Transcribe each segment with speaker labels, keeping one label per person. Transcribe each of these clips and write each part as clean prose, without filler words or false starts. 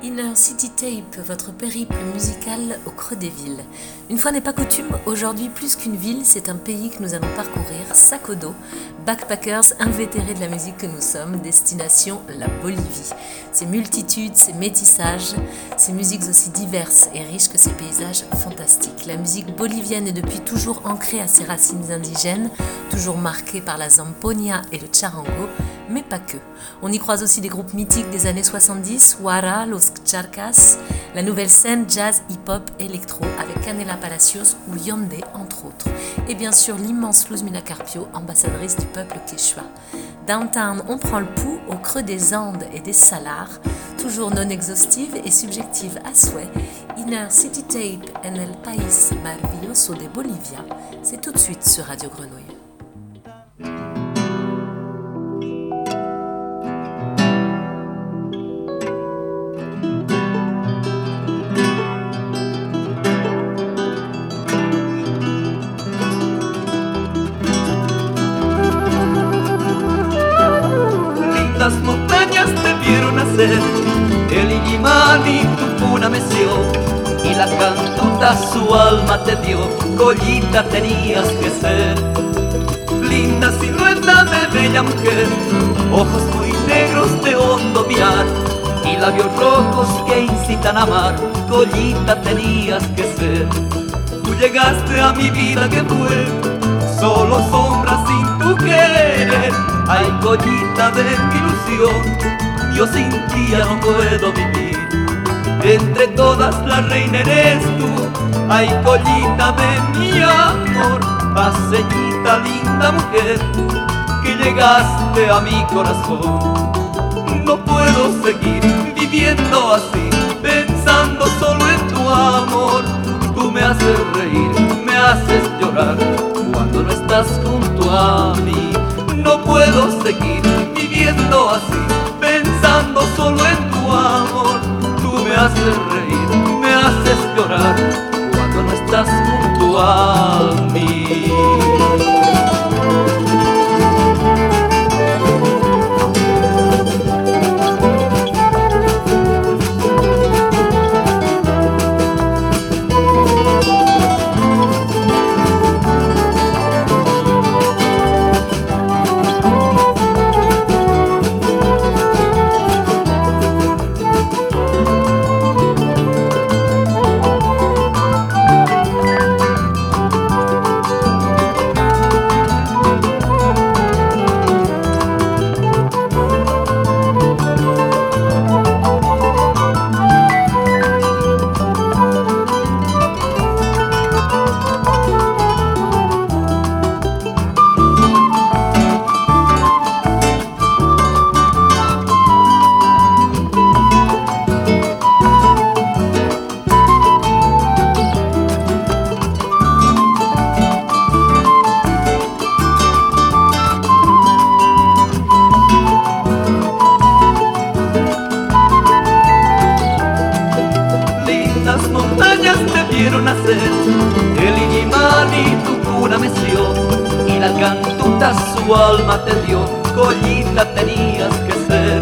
Speaker 1: Inner City Tape, votre périple musical au creux des villes. Une fois n'est pas coutume, aujourd'hui plus qu'une ville, c'est un pays que nous allons parcourir, sac au dos, backpackers invétérés de la musique que nous sommes, destination la Bolivie. Ces multitudes, ces métissages, ces musiques aussi diverses et riches que ces paysages fantastiques. La musique bolivienne est depuis toujours ancrée à ses racines indigènes, toujours marquée par la zampoña et le charango, mais pas que. On y croise aussi des groupes mythiques des années 70, Wara, Los Charcas, la nouvelle scène jazz, hip-hop, électro avec Canela Palacios ou Yandé entre autres. Et bien sûr l'immense Luzmila Carpio, ambassadrice du peuple quechua. Downtown, on prend le pouls au creux des Andes et des Salars, toujours non exhaustive et subjective à souhait. Inner City Tape en el país maravilloso de Bolivia, c'est tout de suite sur Radio Grenouille.
Speaker 2: Las montañas te vieron nacer, el Illimani tu cuna meció, y la cantuta su alma te dio, Collita tenías que ser. Linda silueta de bella mujer, ojos muy negros de hondo mirar, y labios rojos que incitan a amar, Collita tenías que ser. Tú llegaste a mi vida que fue solo sombra sin tu querer. Ay, Collita de mi ilusión, yo sin ti ya no puedo vivir. Entre todas la reina eres tú, ay, Collita de mi amor, paseñita linda mujer, que llegaste a mi corazón. No puedo seguir viviendo así, pensando solo en tu amor. Tú me haces reír, me haces llorar, cuando no estás junto a mí. No puedo seguir viviendo así, pensando solo en tu amor. Tú me haces reír, me haces llorar, cuando no estás junto a mí. El Illimani tu cuna meció, y la cantuta su alma te dio, Collita tenías que ser.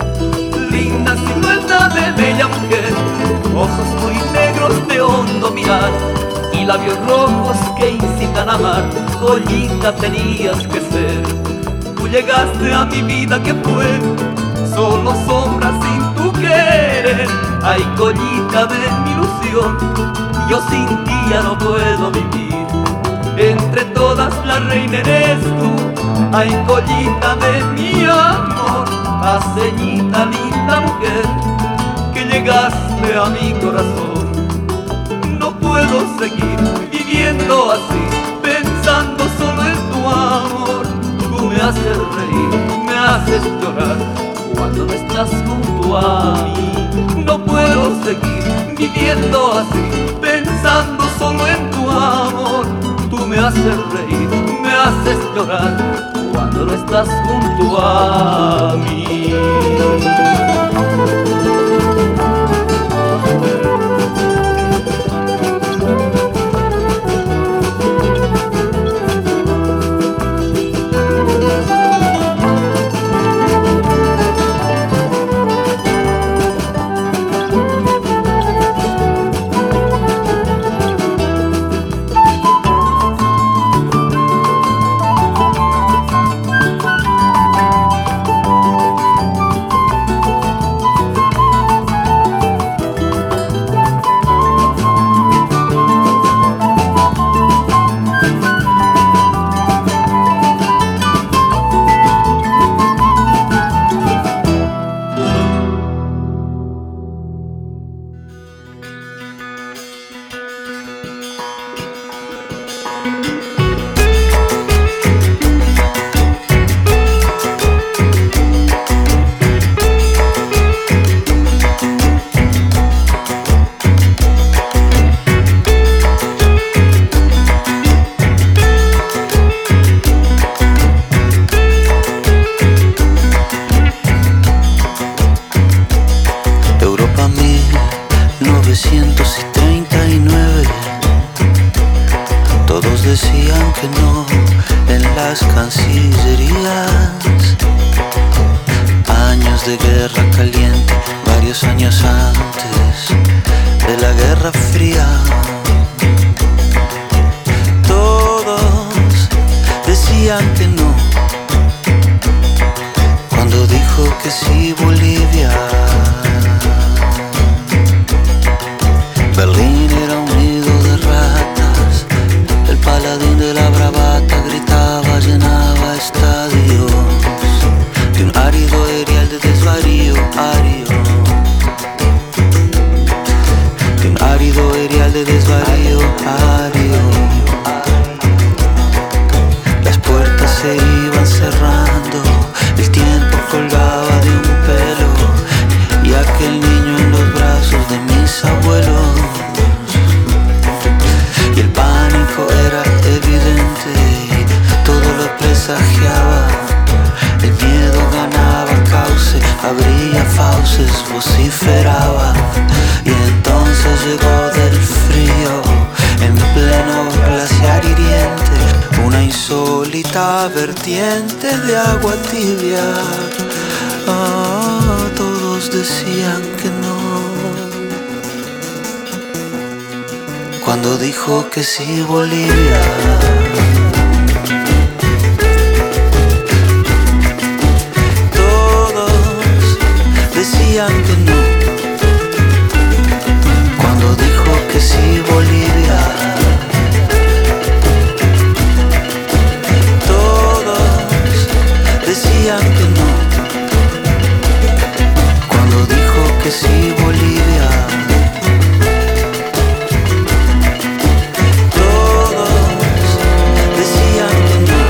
Speaker 2: Linda silueta de bella mujer, ojos muy negros de hondo mirar, y labios rojos que incitan a amar, Collita tenías que ser. Tú llegaste a mi vida que fue solo sombra sin tu querer. Ay, Collita de mi ilusión, yo sin ti ya no puedo vivir. Entre todas la reina eres tú, ay, Collita de mi amor, paseñita linda mujer, que llegaste a mi corazón. No puedo seguir viviendo así, pensando solo en tu amor. Tú me haces reír, me haces llorar, cuando no estás junto a mí. No puedo seguir viviendo así, pensando solo en tu amor. Tú me haces reír, me haces llorar, cuando no estás junto a mí.
Speaker 3: las cancillerías. Años de guerra caliente, varios años antes de la Guerra Fría. Todos decían que no, cuando dijo que sí Bolivia. Berlín era un nido de ratas, el paladín de la bravata gritaba, llenaba estadios de un árido erial de desvarío, de un árido erial de desvarío, Las puertas se iban cerrando, el tiempo colgaba de un pelo, y aquel niño en los brazos de mis abuelos. Y el pánico era evidente, todo lo presagiaba. El miedo ganaba cauce, abría fauces, vociferaba. Y entonces llegó del frío, en pleno glaciar hiriente, una insólita vertiente de agua tibia. Todos decían que no, cuando dijo que sí Bolivia. Decían que no, cuando dijo que sí Bolivia. Todos decían que no, cuando dijo que sí Bolivia. Todos decían que no,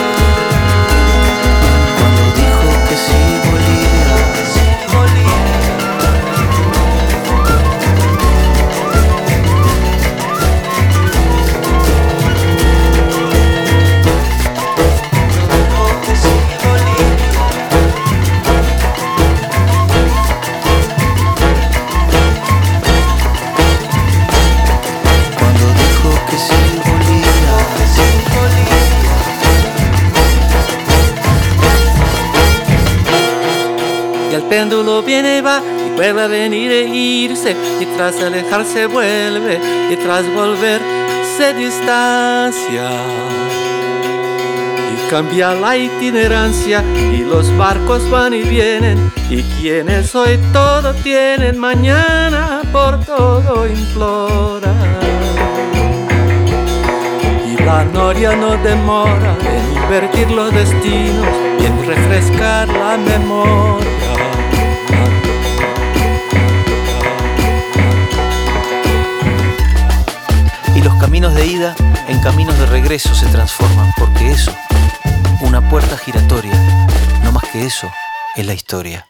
Speaker 3: cuando dijo que sí Bolivia.
Speaker 4: El péndulo viene y va, y vuelve a venir e irse, y tras alejarse vuelve, y tras volver se distancia. Y cambia la itinerancia, y los barcos van y vienen, y quienes hoy todo tienen, mañana por todo imploran. Y la noria no demora en invertir los destinos y en refrescar la memoria.
Speaker 3: Y los caminos de ida en caminos de regreso se transforman, porque eso, una puerta giratoria, no más que eso, es la historia.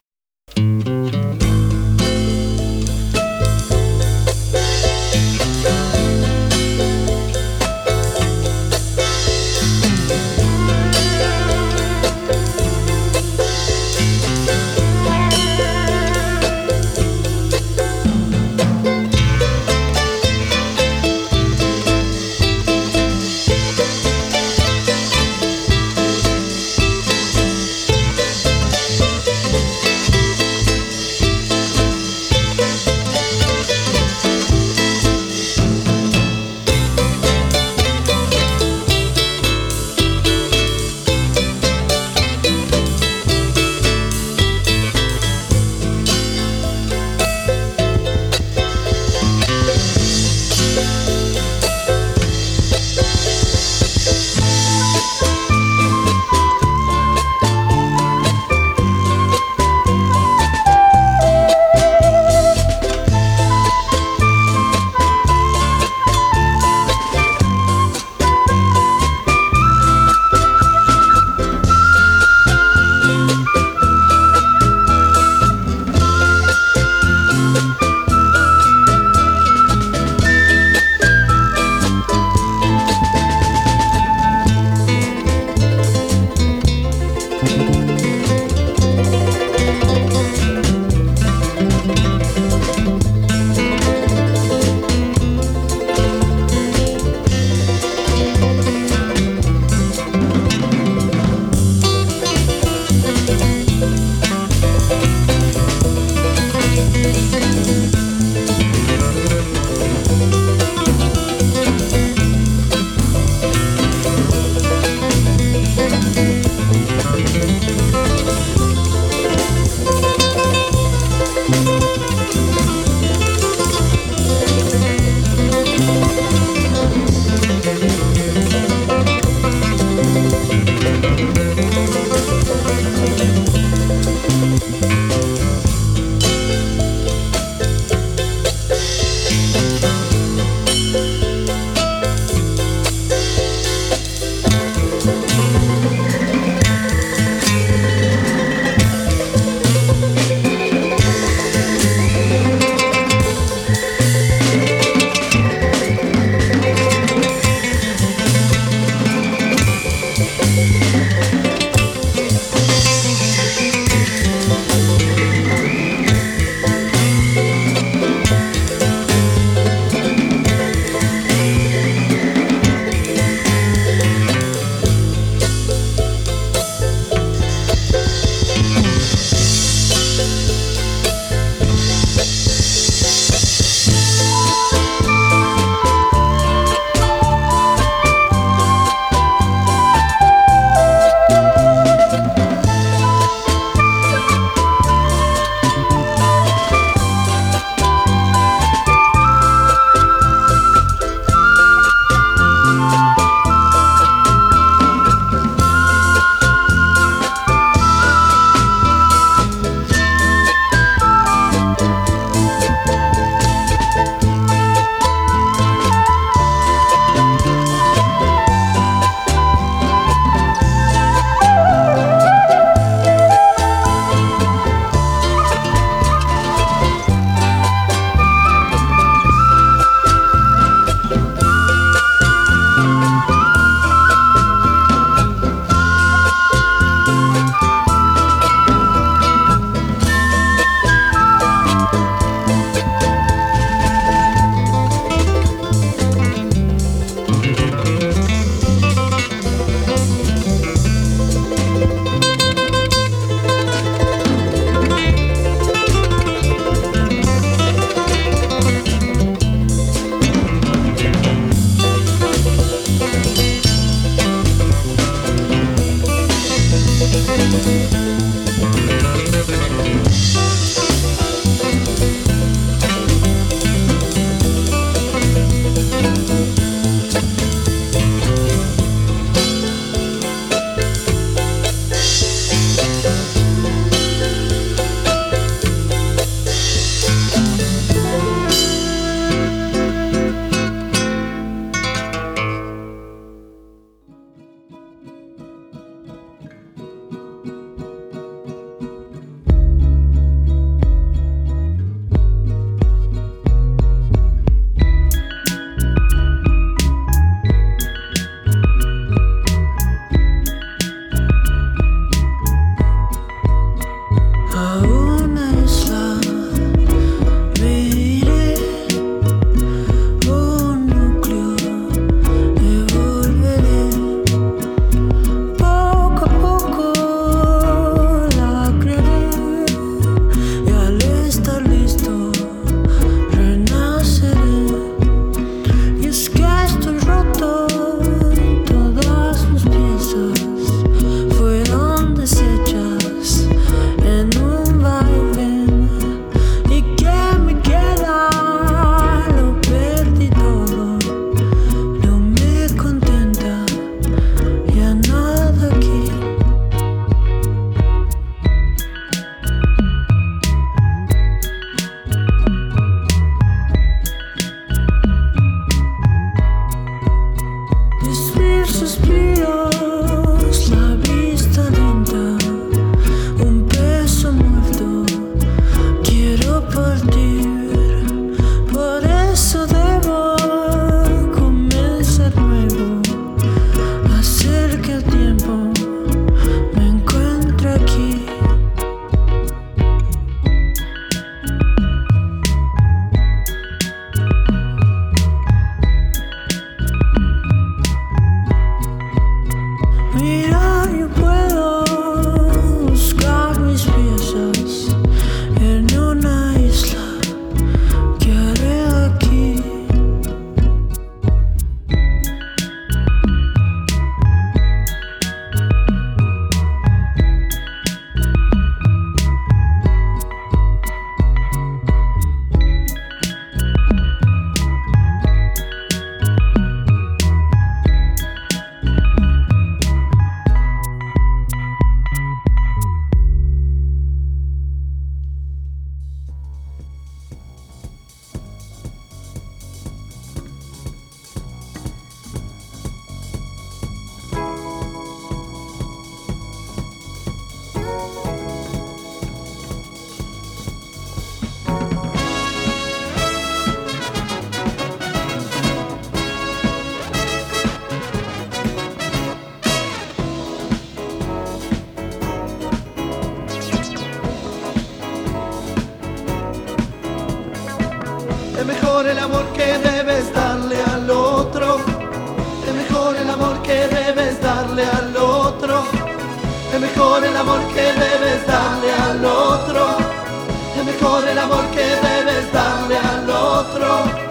Speaker 5: mejor el amor que debes darle al otro. Es mejor el amor que debes darle al otro. Es mejor el amor que debes darle al otro. Es mejor el amor que debes darle al otro.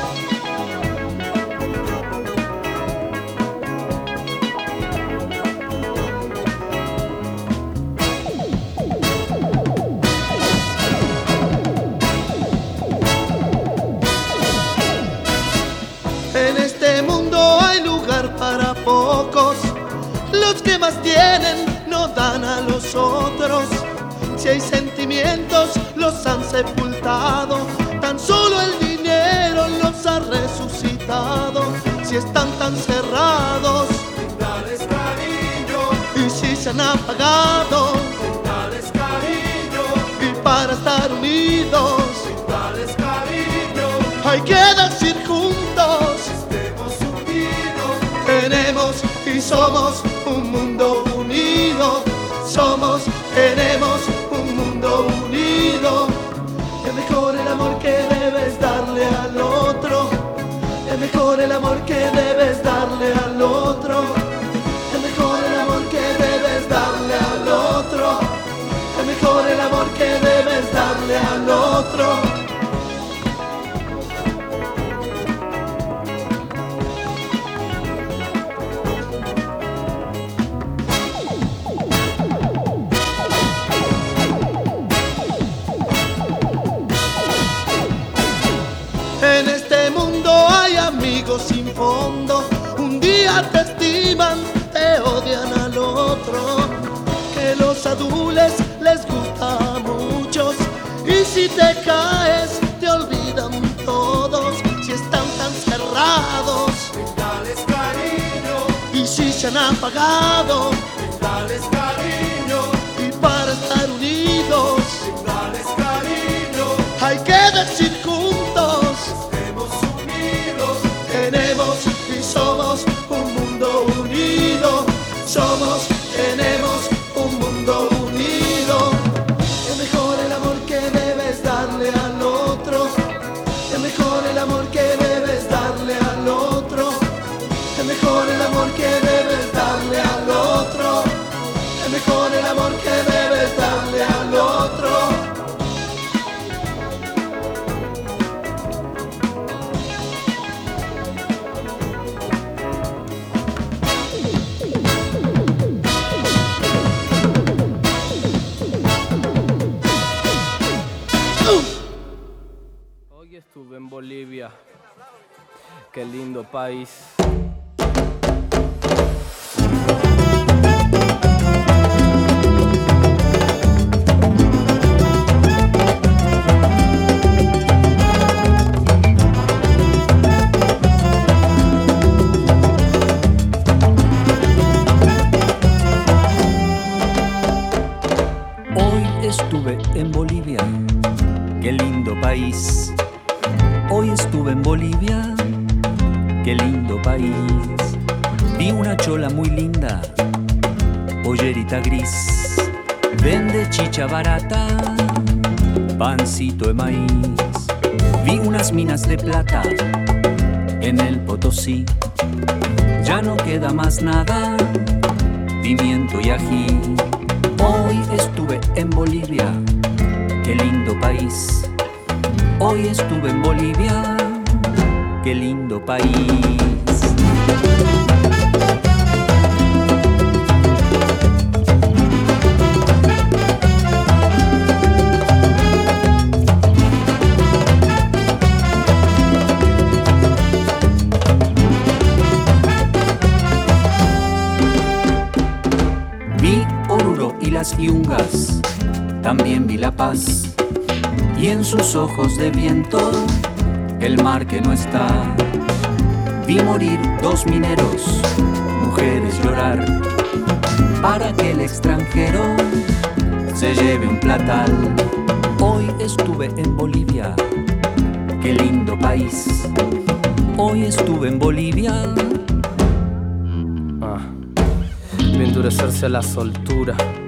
Speaker 5: En este mundo hay lugar para pocos. Los que más tienen no dan a los otros. Si hay sentimientos los han sepultado. Tan solo el dinero los ha resucitado. Si están tan cerrados, dales cariño. Y si se han apagado, dales cariño. Y para estar unidos, dales cariño. Hay que decir juntos, estemos unidos. Tenemos y somos un mundo unido. Somos, tenemos un mundo unido. Es mejor el amor que debes darle al otro. Es mejor el amor que debes darle al otro. Es mejor el amor que debes darle al otro. Es mejor el amor que debes darle al otro. En este mundo hay amigos sin fondo. Un día te estiman, te odian al otro. Que los adules les gusta a muchos. Y si te caes, te olvidan todos. Si están tan cerrados, dales cariño. Y si se han apagado, dales cariño. Y para estar unidos, dales cariño. Hay que decir juntos, tenemos y somos un mundo unido. Somos, tenemos un mundo unido. Es mejor el amor que debes darle al otro. Es mejor el amor que debes darle al otro. Es mejor el amor que debes darle al otro. Es mejor el amor que debes darle al otro.
Speaker 6: Hoy estuve en Bolivia, qué lindo país.
Speaker 3: Hoy estuve en Bolivia, qué lindo país. Hoy estuve en Bolivia, qué lindo país. Vi una chola muy linda, pollerita gris. Vende chicha barata, pancito de maíz. Vi unas minas de plata en el Potosí. Ya no queda más nada, pimiento y ají. Hoy estuve en Bolivia, qué lindo país. Hoy estuve en Bolivia, qué lindo país. Vi Oruro y las Yungas, también vi La Paz. Y en sus ojos de viento, el mar que no está. Vi morir 2 mineros, mujeres llorar, para que el extranjero se lleve un platal. Hoy estuve en Bolivia, qué lindo país. Hoy estuve en Bolivia.
Speaker 6: Vi endurecerse la soltura,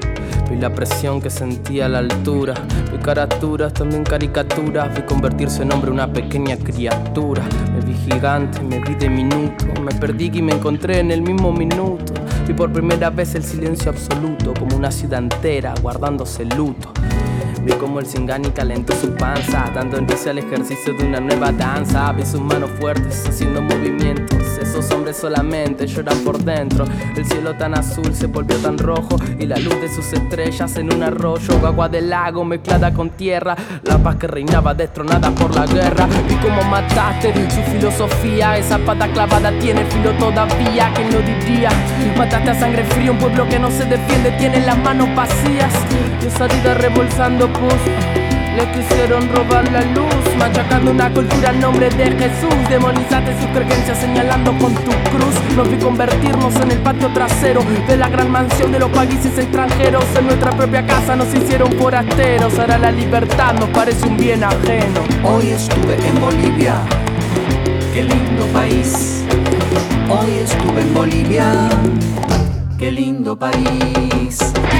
Speaker 6: Vi la presión que sentía a la altura. Vi caraturas, también caricaturas. Vi convertirse en hombre una pequeña criatura. Me vi gigante, me vi diminuto. Me perdí y me encontré en el mismo minuto. Vi por primera vez el silencio absoluto, como una ciudad entera guardándose luto. Vi como el Singani calentó su panza, dando inicio al ejercicio de una nueva danza. Vi sus manos fuertes haciendo movimientos. Esos hombres solamente lloran por dentro. El cielo tan azul se volvió tan rojo, y la luz de sus estrellas en un arroyo, agua del lago mezclada con tierra. La paz que reinaba destronada por la guerra. Vi cómo mataste su filosofía. Esa pata clavada tiene filo todavía. ¿Quién lo diría? Mataste a sangre fría un pueblo que no se defiende, tiene las manos vacías. Y esa vida rebolsando pus. Le quisieron robar la luz, machacando una cultura en nombre de Jesús. Demonizaste sus creencias señalando con tu cruz. Nos vi convertirnos en el patio trasero de la gran mansión de los países extranjeros. En nuestra propia casa nos hicieron forasteros. Ahora la libertad nos parece un bien ajeno.
Speaker 2: Hoy estuve en Bolivia, qué lindo país. Hoy estuve en Bolivia, qué lindo país.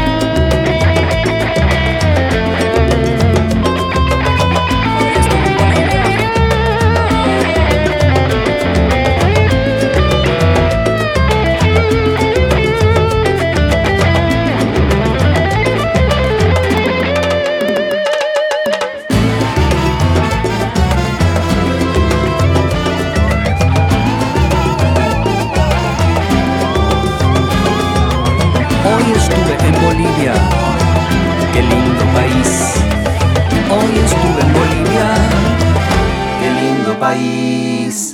Speaker 2: Hoy estuve en Bolivia, qué lindo país. Hoy estuve en Bolivia, qué lindo país.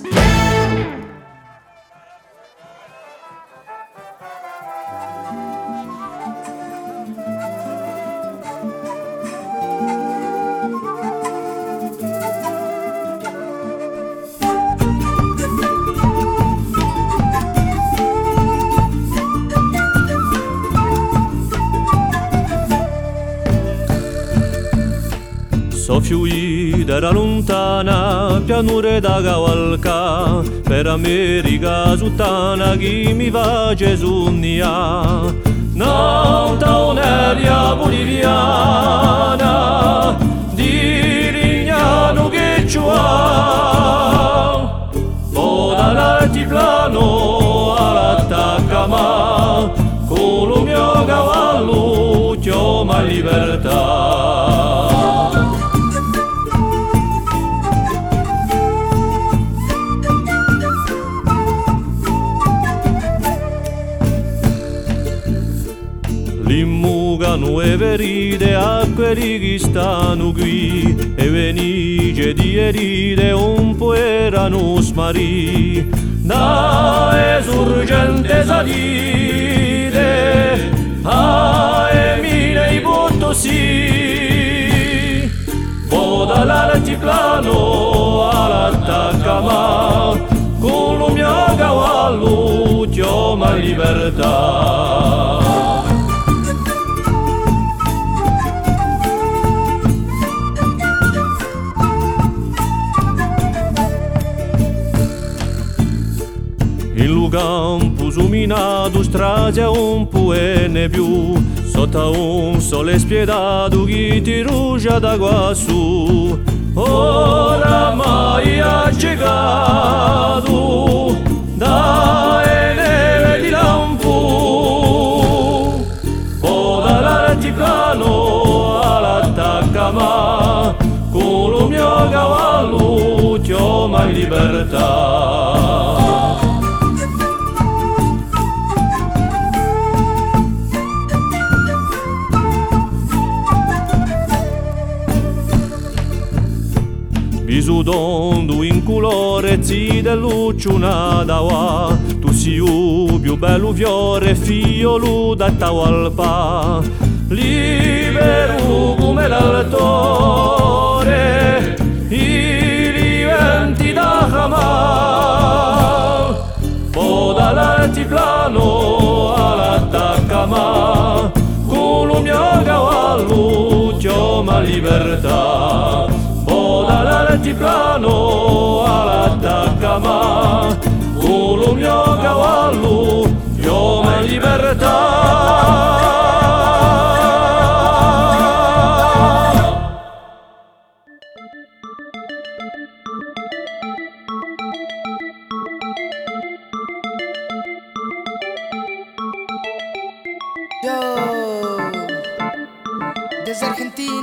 Speaker 7: Soffiui dalla lontana pianure da cavalca per America sottana chi mi va Gesugnia. Nauta un'aria boliviana di Lignano che ci ha. Poda l'altiplano all'attaccama con lo mio cavallo chiama libertà. L'immugano e veride a quelli che stanno qui e venige di eride un po' erano smarì da esurgente salire a Emile i Potosí poda l'altiplano all'attaccama con lo mio cavallo chiama libertà. In lu campo suminato strade un po' e ne più sotto un sole spiedato che ti rugia da quassù oramai accecato da neve di lampo poda l'altiplano all'attaccama con lo mio cavallo chiama in libertà. Bisudondo in colore zi dell'ucciuna da tu sei il più bello fiore figliolo da Tawalpa libero come l'altore i venti da Hamal poda l'altiplano all'attaccama con lo mio cavallo chiama libertà. L'altiplano all'attaccama con lo mio cavallo chiama libertà.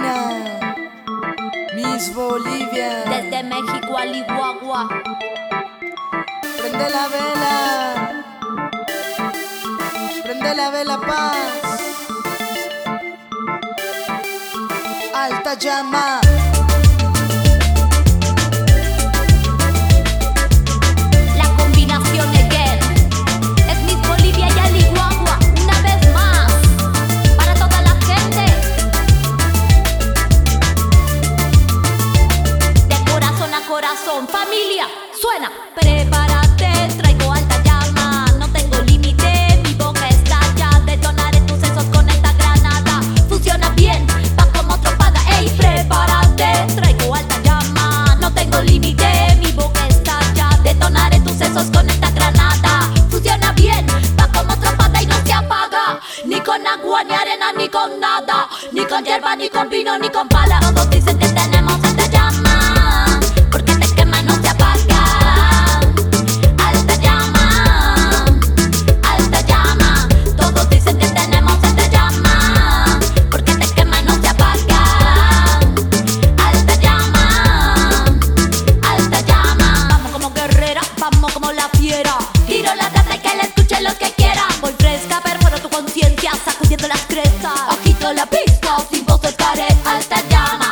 Speaker 8: Argentina, Miss Bolivia.
Speaker 9: Desde México al Iguagua.
Speaker 8: Prende la vela paz. Alta llama.
Speaker 9: La combinación again. Es Miss Bolivia y al Iguagua. Una vez más. Para toda la gente. De corazón a corazón. Familia, suena. Prepárate, traigo alta llama. No tengo límite, mi boca estalla. Detonaré tus sesos con esta granada. Funciona bien, va como tropada. Ey, prepárate, traigo alta llama. No tengo límite, mi boca estalla. Detonaré tus sesos con esta granada. Funciona bien, va como tropada y no se apaga. Ni con agua, ni arena, ni con nada. Ni con hierba, ni con vino, ni con pala. Todos dicen que tenemos alta llama. Porque te quema y no se apaga. Alta llama, alta llama. Todos dicen que tenemos alta llama. Porque te quema y no se apaga. Alta llama, alta llama. Vamos como guerrera, vamos como la fiera. Tiro la plata y que la escuchen los que quieran. Voy fresca, perforo tu conciencia, sacudiendo las crestas. Agito la pista, sin voz estaré. Alta llama.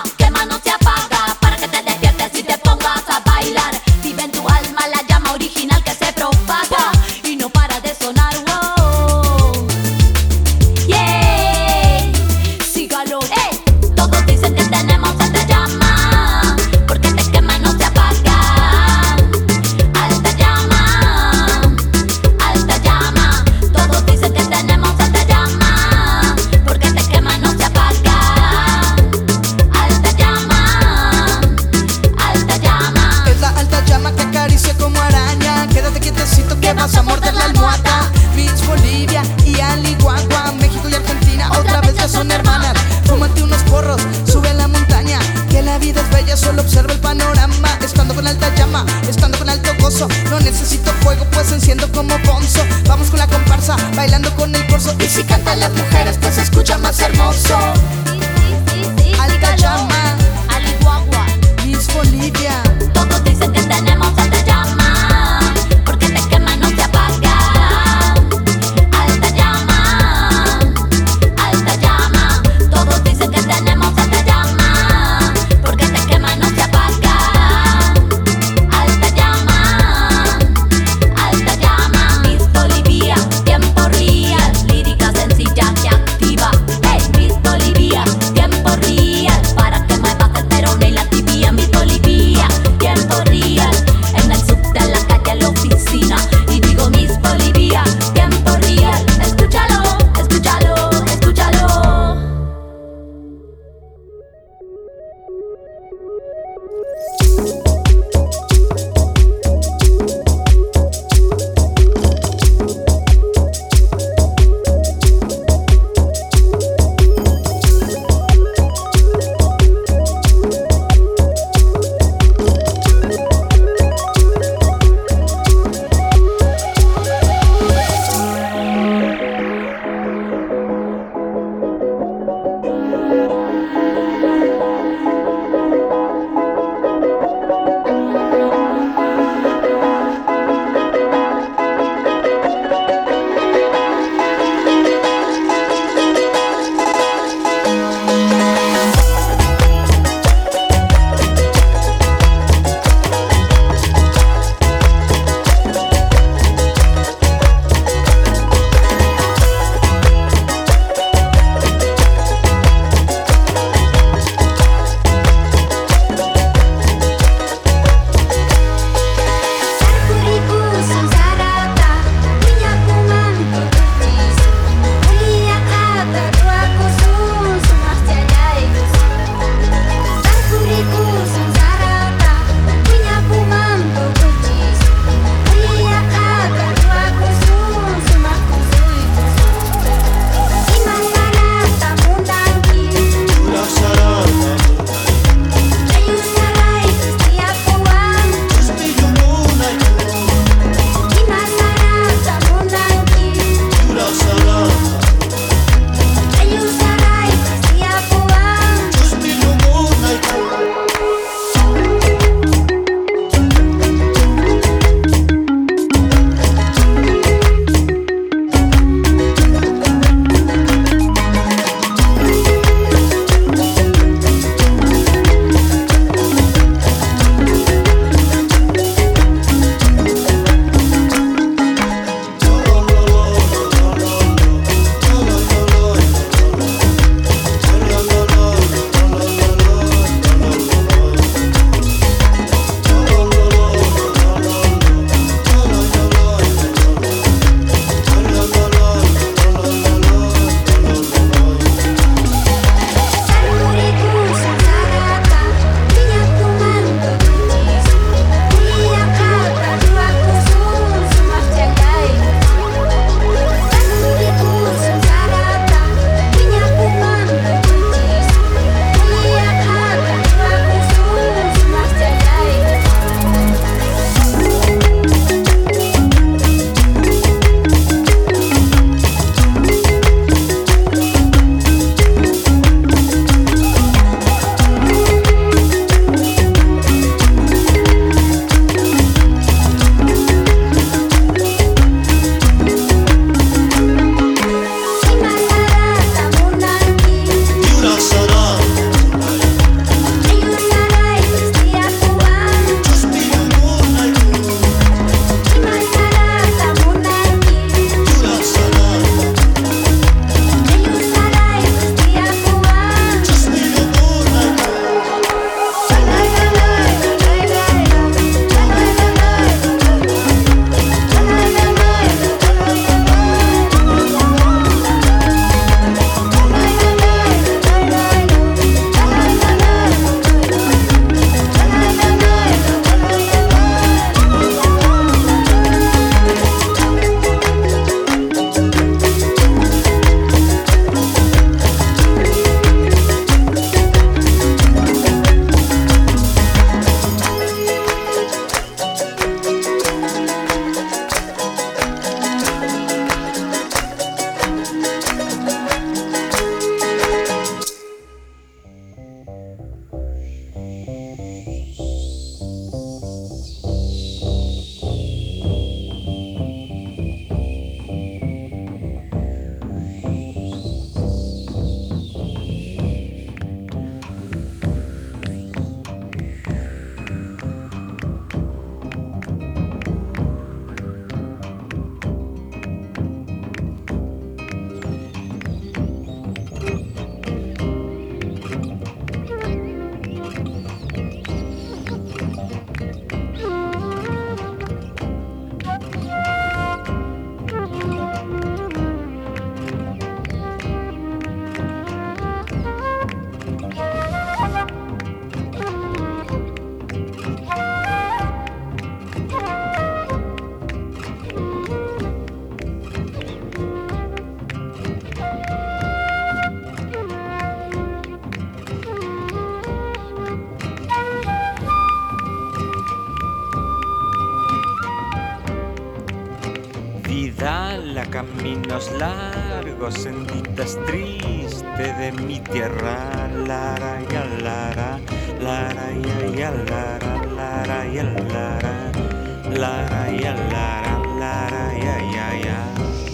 Speaker 3: caminos largos, senditas tristes de mi tierra, lara ya lara, lara ya ya lara, lara ya lara, lara ya lara, lara ya ya ya.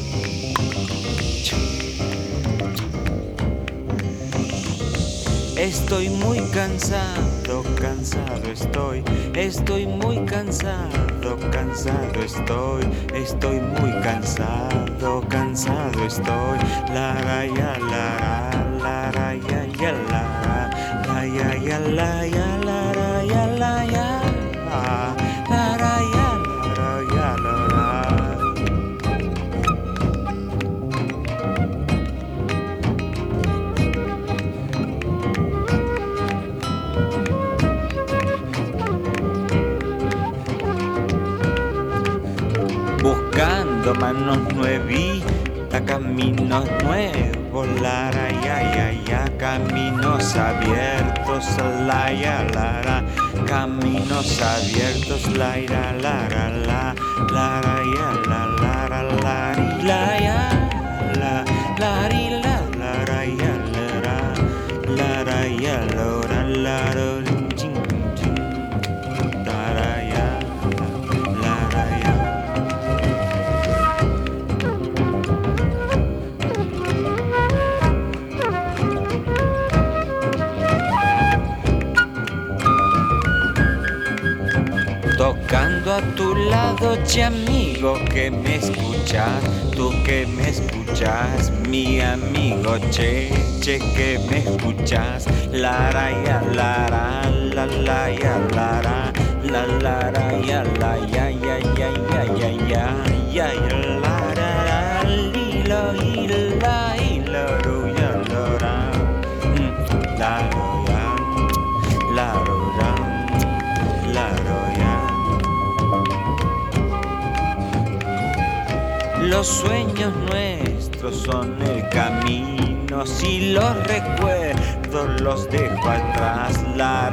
Speaker 3: Estoy muy cansado, cansado estoy muy cansado, cansado estoy muy cansado, cansado estoy, lara ya lara, lara ya ya lara, la ya ya la ya lara ya la ya, lara ya lara ya lara. Buscando manos nuevitas, caminos nuevos, lara ya ya ya, caminos abiertos, la ya lara, caminos abiertos, la ira lara la, lara ya la lara la la ya la, la la lara ya lara ya lara lara. Tocando a tu lado, che amigo que me escuchas, tú que me escuchas, mi amigo che, che que me escuchas, lara ya lara, la ya lara, la lara ya la ya ya ya ya ya ya ya ya lara, lilo ila ila ru ya lara, la ya la ya la ya. Los sueños nuestros son el camino, si los recuerdos los dejo atrás, la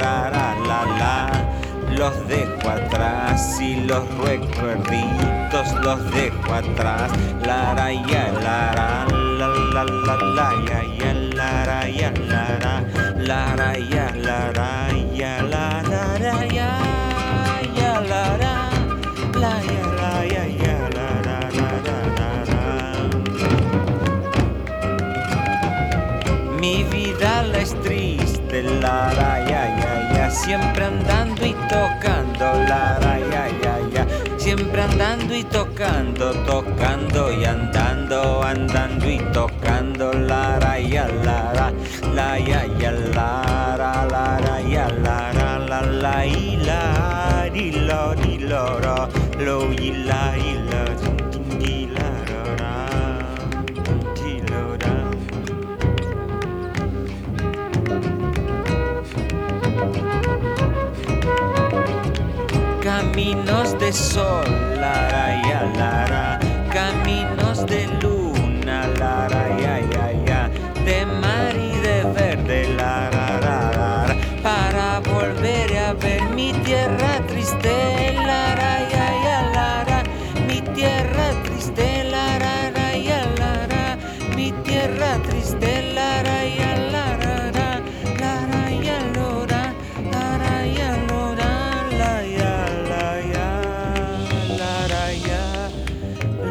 Speaker 3: los dejo atrás, si los recuerditos los dejo atrás, la ya la ya ya la ya la ya la ya la ya ya la ya ya la. Mi vida la es triste, la ya ya ya, siempre andando y tocando, la ya ya ya, siempre andando y tocando, tocando y andando, andando y tocando, la ya la ya ya la ya la y lo lo y la caminos de sol, lara ya lara, caminos de luna, lara ya ya ya, de mar y de verde, lara, para volver a ver mi tierra triste, lara ya ya lara, mi tierra triste, lara ya lara, mi tierra triste, lara ya lara, lara ya lora, lara ya lora, la ya.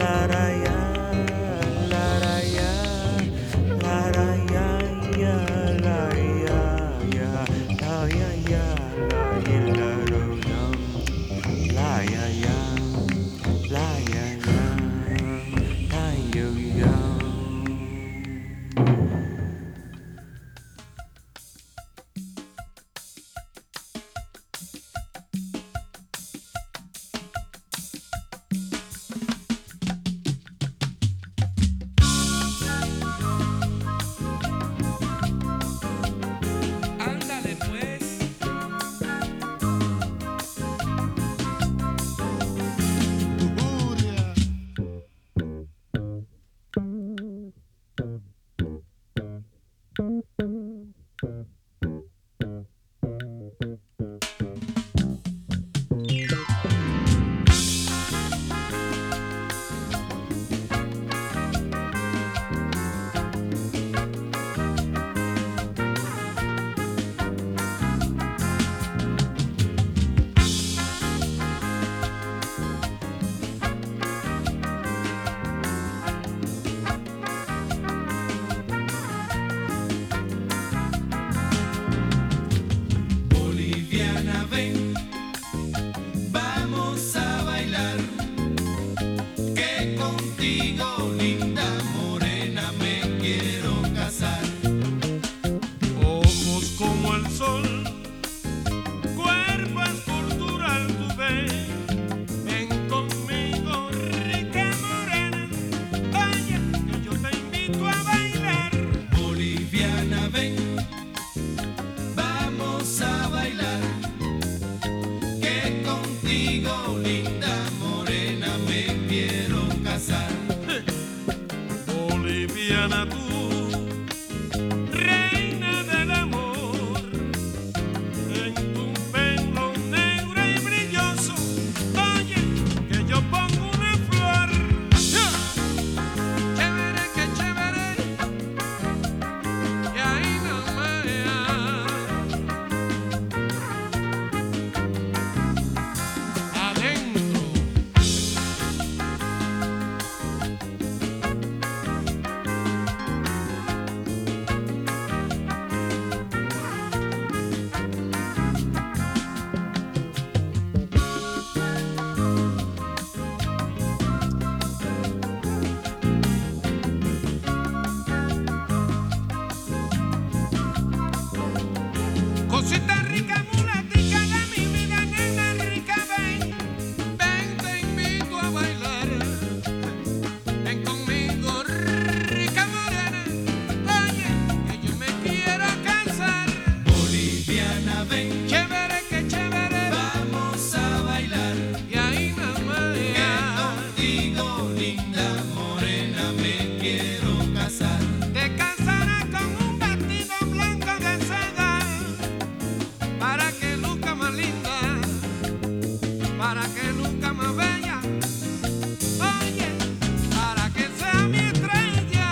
Speaker 10: ven, chévere que chévere, vamos a bailar. Y ahí mamá, que contigo, linda morena, me quiero casar. Te casarás con un vestido blanco de seda, para que luzca más linda, para que luzca más bella. Oye, para que sea mi estrella.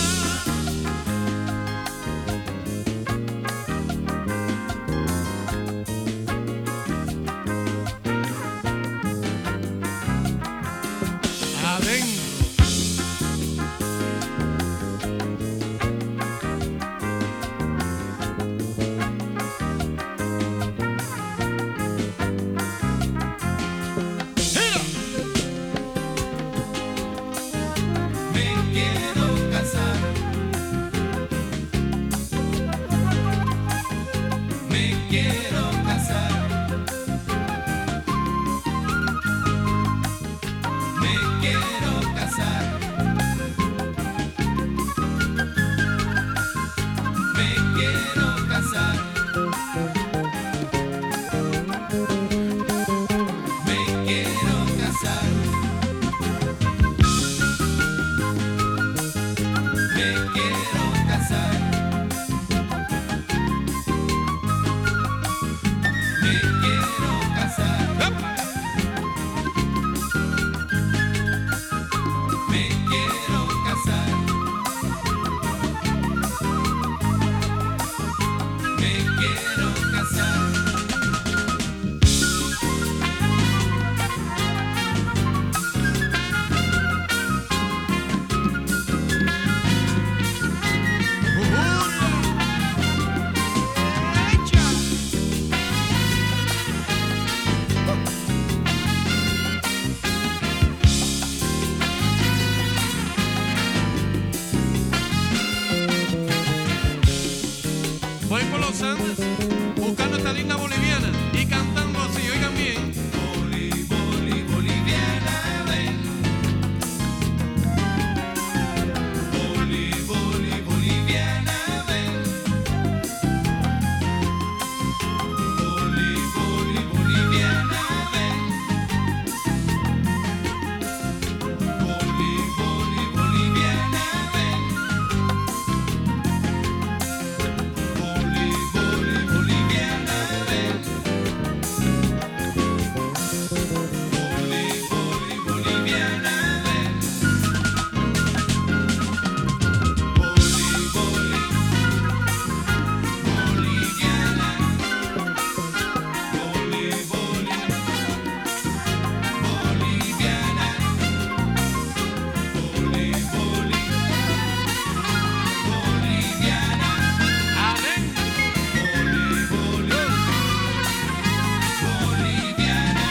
Speaker 10: Adentro. Me quiero casar. Me quiero casar. Me quiero casar. Me quiero casar. Me quiero casar. Me quiero casar. Me quiero casar. Me quiero casar. Me quiero casar. Voy por los Andes buscando esta linda boliviana y cantando así, oigan bien. Boli, boli, boliviana, ven. Boli, boli, boliviana, ven. Boli, boli, boliviana, ven. Boli, boli, boliviana, ven. Boli, boli, boliviana, ven. Boli, boli, boliviana, ven. Boli, boli, boliviana. Boli, boli, boliviana. Boli, boli, boliviana. Adentro. Boli, boli, boliviana.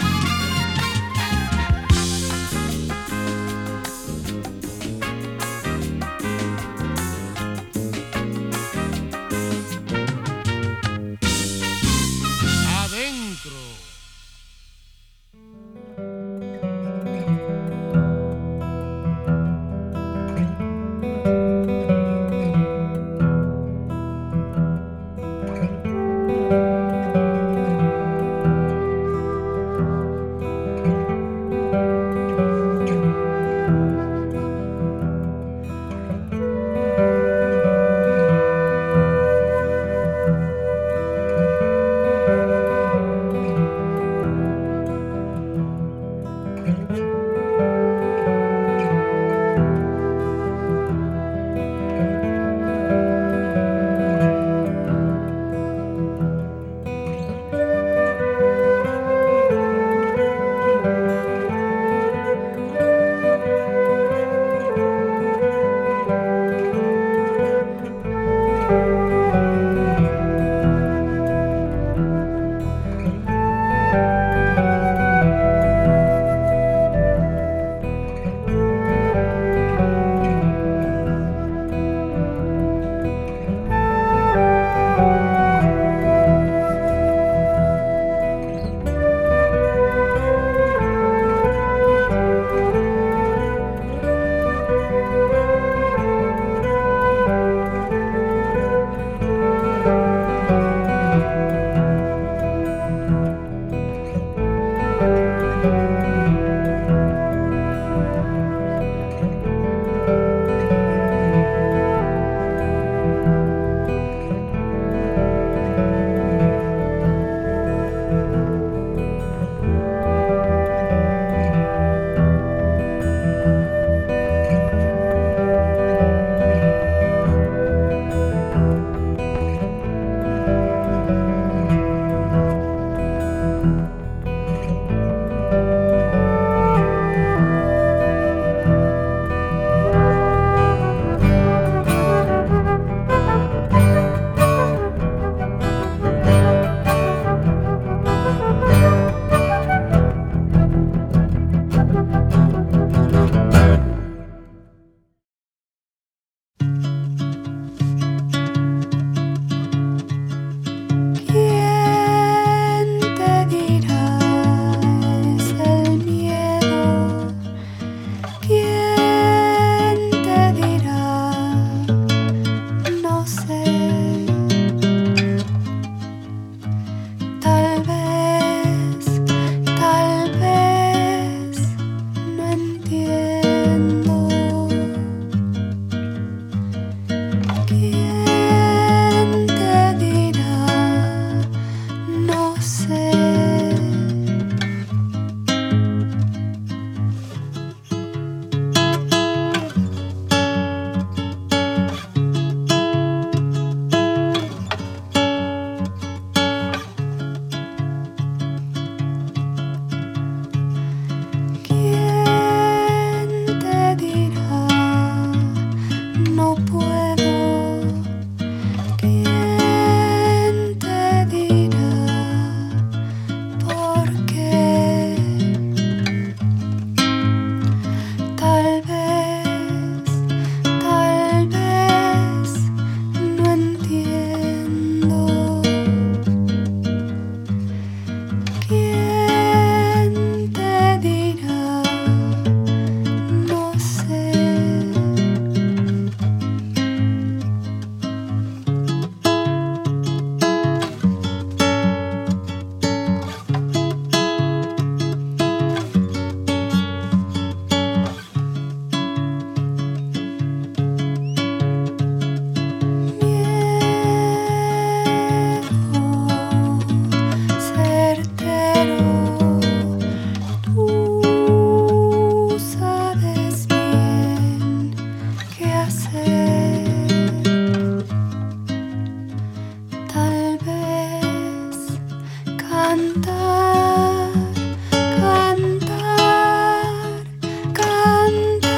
Speaker 10: Adentro.
Speaker 11: cantar, cantar, cantar.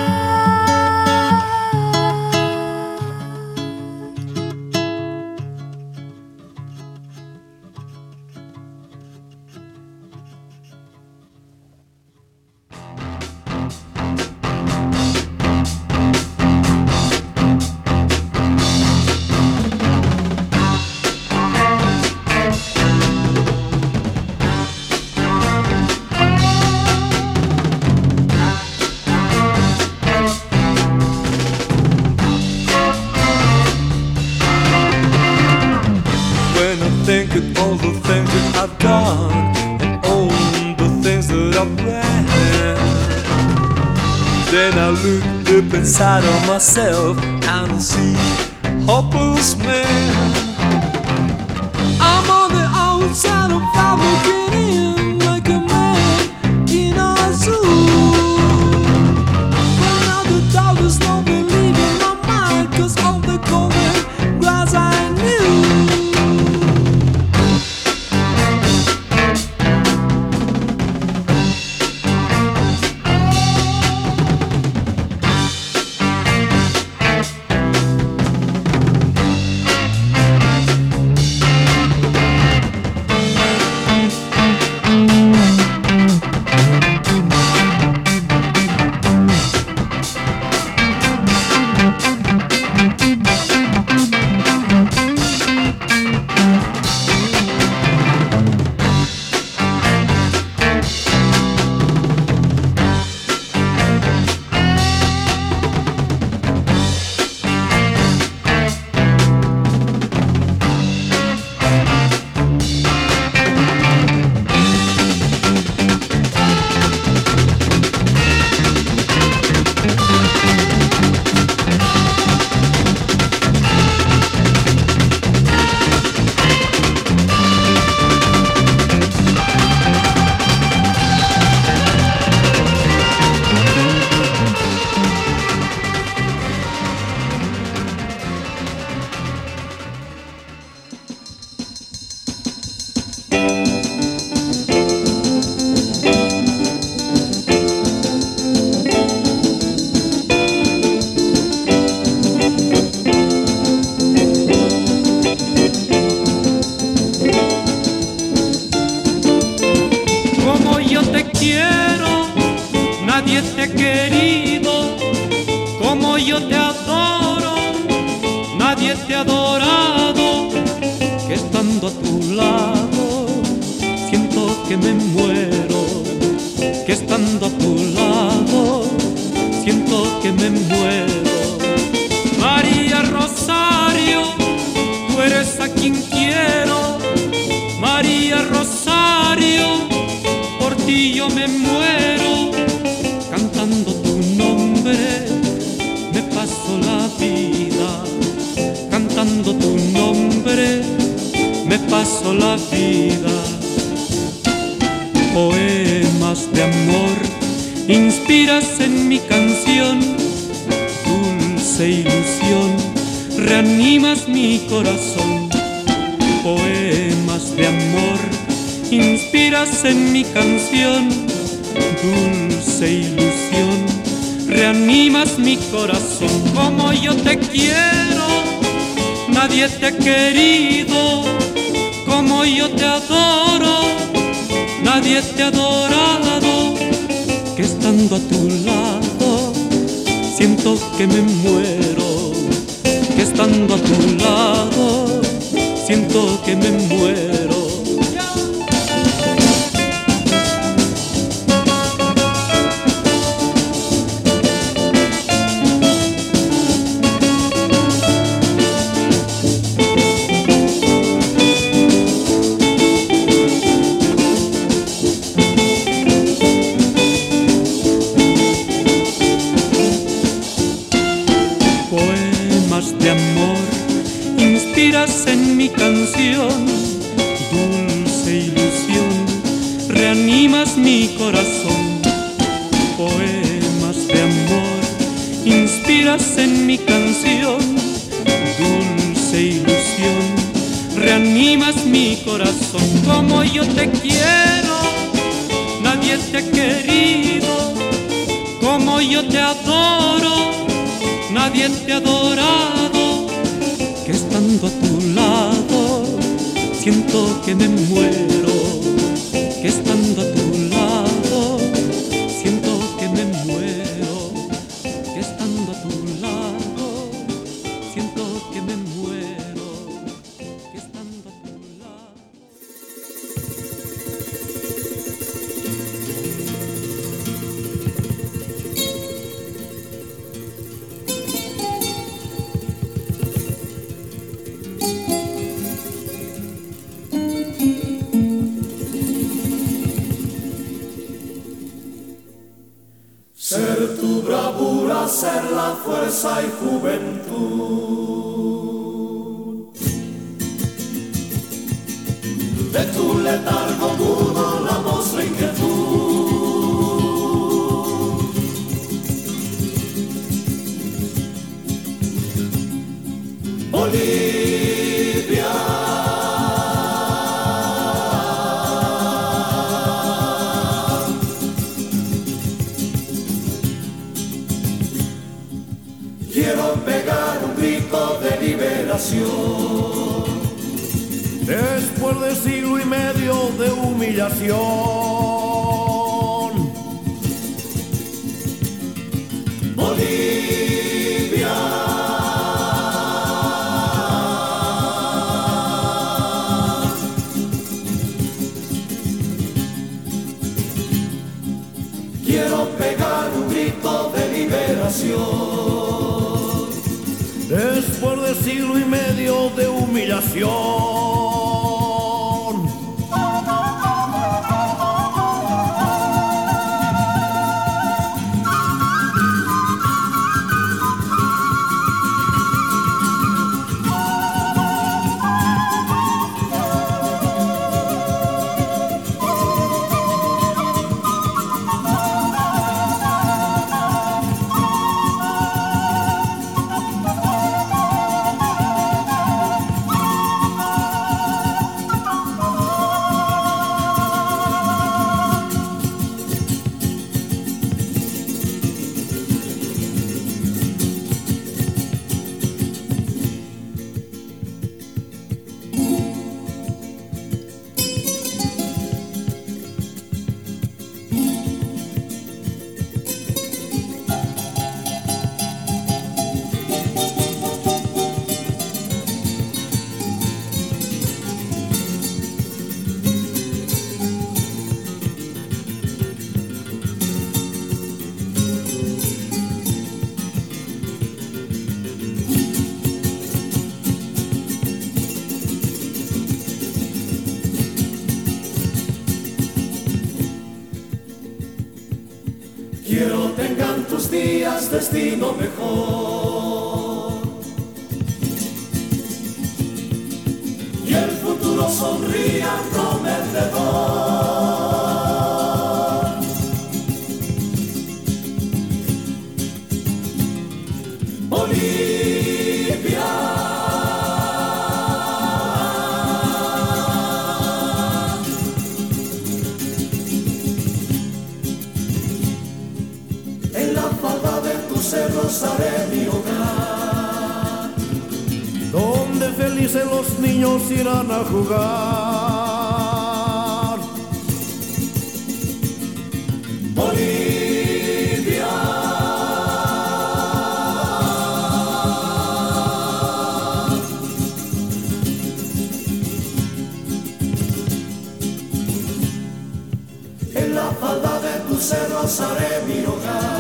Speaker 7: When I think of all the things that I've done and all the things that I've planned, then I look up inside of myself and I see hopeless man. I'm on the outside of I'm looking in like a man in a zoo. But now the doubters don't believe in my mind, 'cause all the golden grass I knew.
Speaker 12: nadie te ha querido como yo te adoro, nadie te ha adorado, que estando a tu lado siento que me muero, que estando a tu lado siento que me muero. María Rosario, tú eres a quien quiero, María Rosario, por ti yo me muero, cantando tu nombre me paso la vida, cantando tu nombre me paso la vida. Poemas de amor inspiras en mi canción, dulce ilusión reanimas mi corazón. Poemas de amor inspiras en mi canción, dulce ilusión reanimas mi corazón. Como yo te quiero, nadie te ha querido, como yo te adoro, nadie te ha adorado, que estando a tu lado siento que me muero, que estando a tu lado siento que me muero. De amor inspiras en mi canción, dulce ilusión reanimas mi corazón. Poemas de amor inspiras en mi canción, dulce ilusión reanimas mi corazón. corazón como yo te quiero. Nadie te ha querido como yo te adoro. Nadie te ha adorado, que estando a tu lado siento que me muero. Que estando a tu lado siento que me muero. Que estando a tu lado siento que me muero. Que estando a tu lado.
Speaker 13: Ser tu bravura, ser la fuerza y juventud. De tu letargo mudo la voz la inquietud. Bolivia, quiero pegar un grito de liberación. Después de siglo y medio de humillación. Bolivia, quiero pegar un grito de liberación. Después de siglo y medio de humillación. Quiero tengan tus días destino mejor y el futuro sonría prometedor. Bolivia, en la falda de tus cerros haré mi hogar, donde felices los niños irán a jugar. Bolivia, en la falda de tus cerros haré mi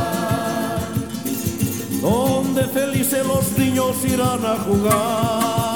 Speaker 13: hogar, donde felices los niños irán a jugar.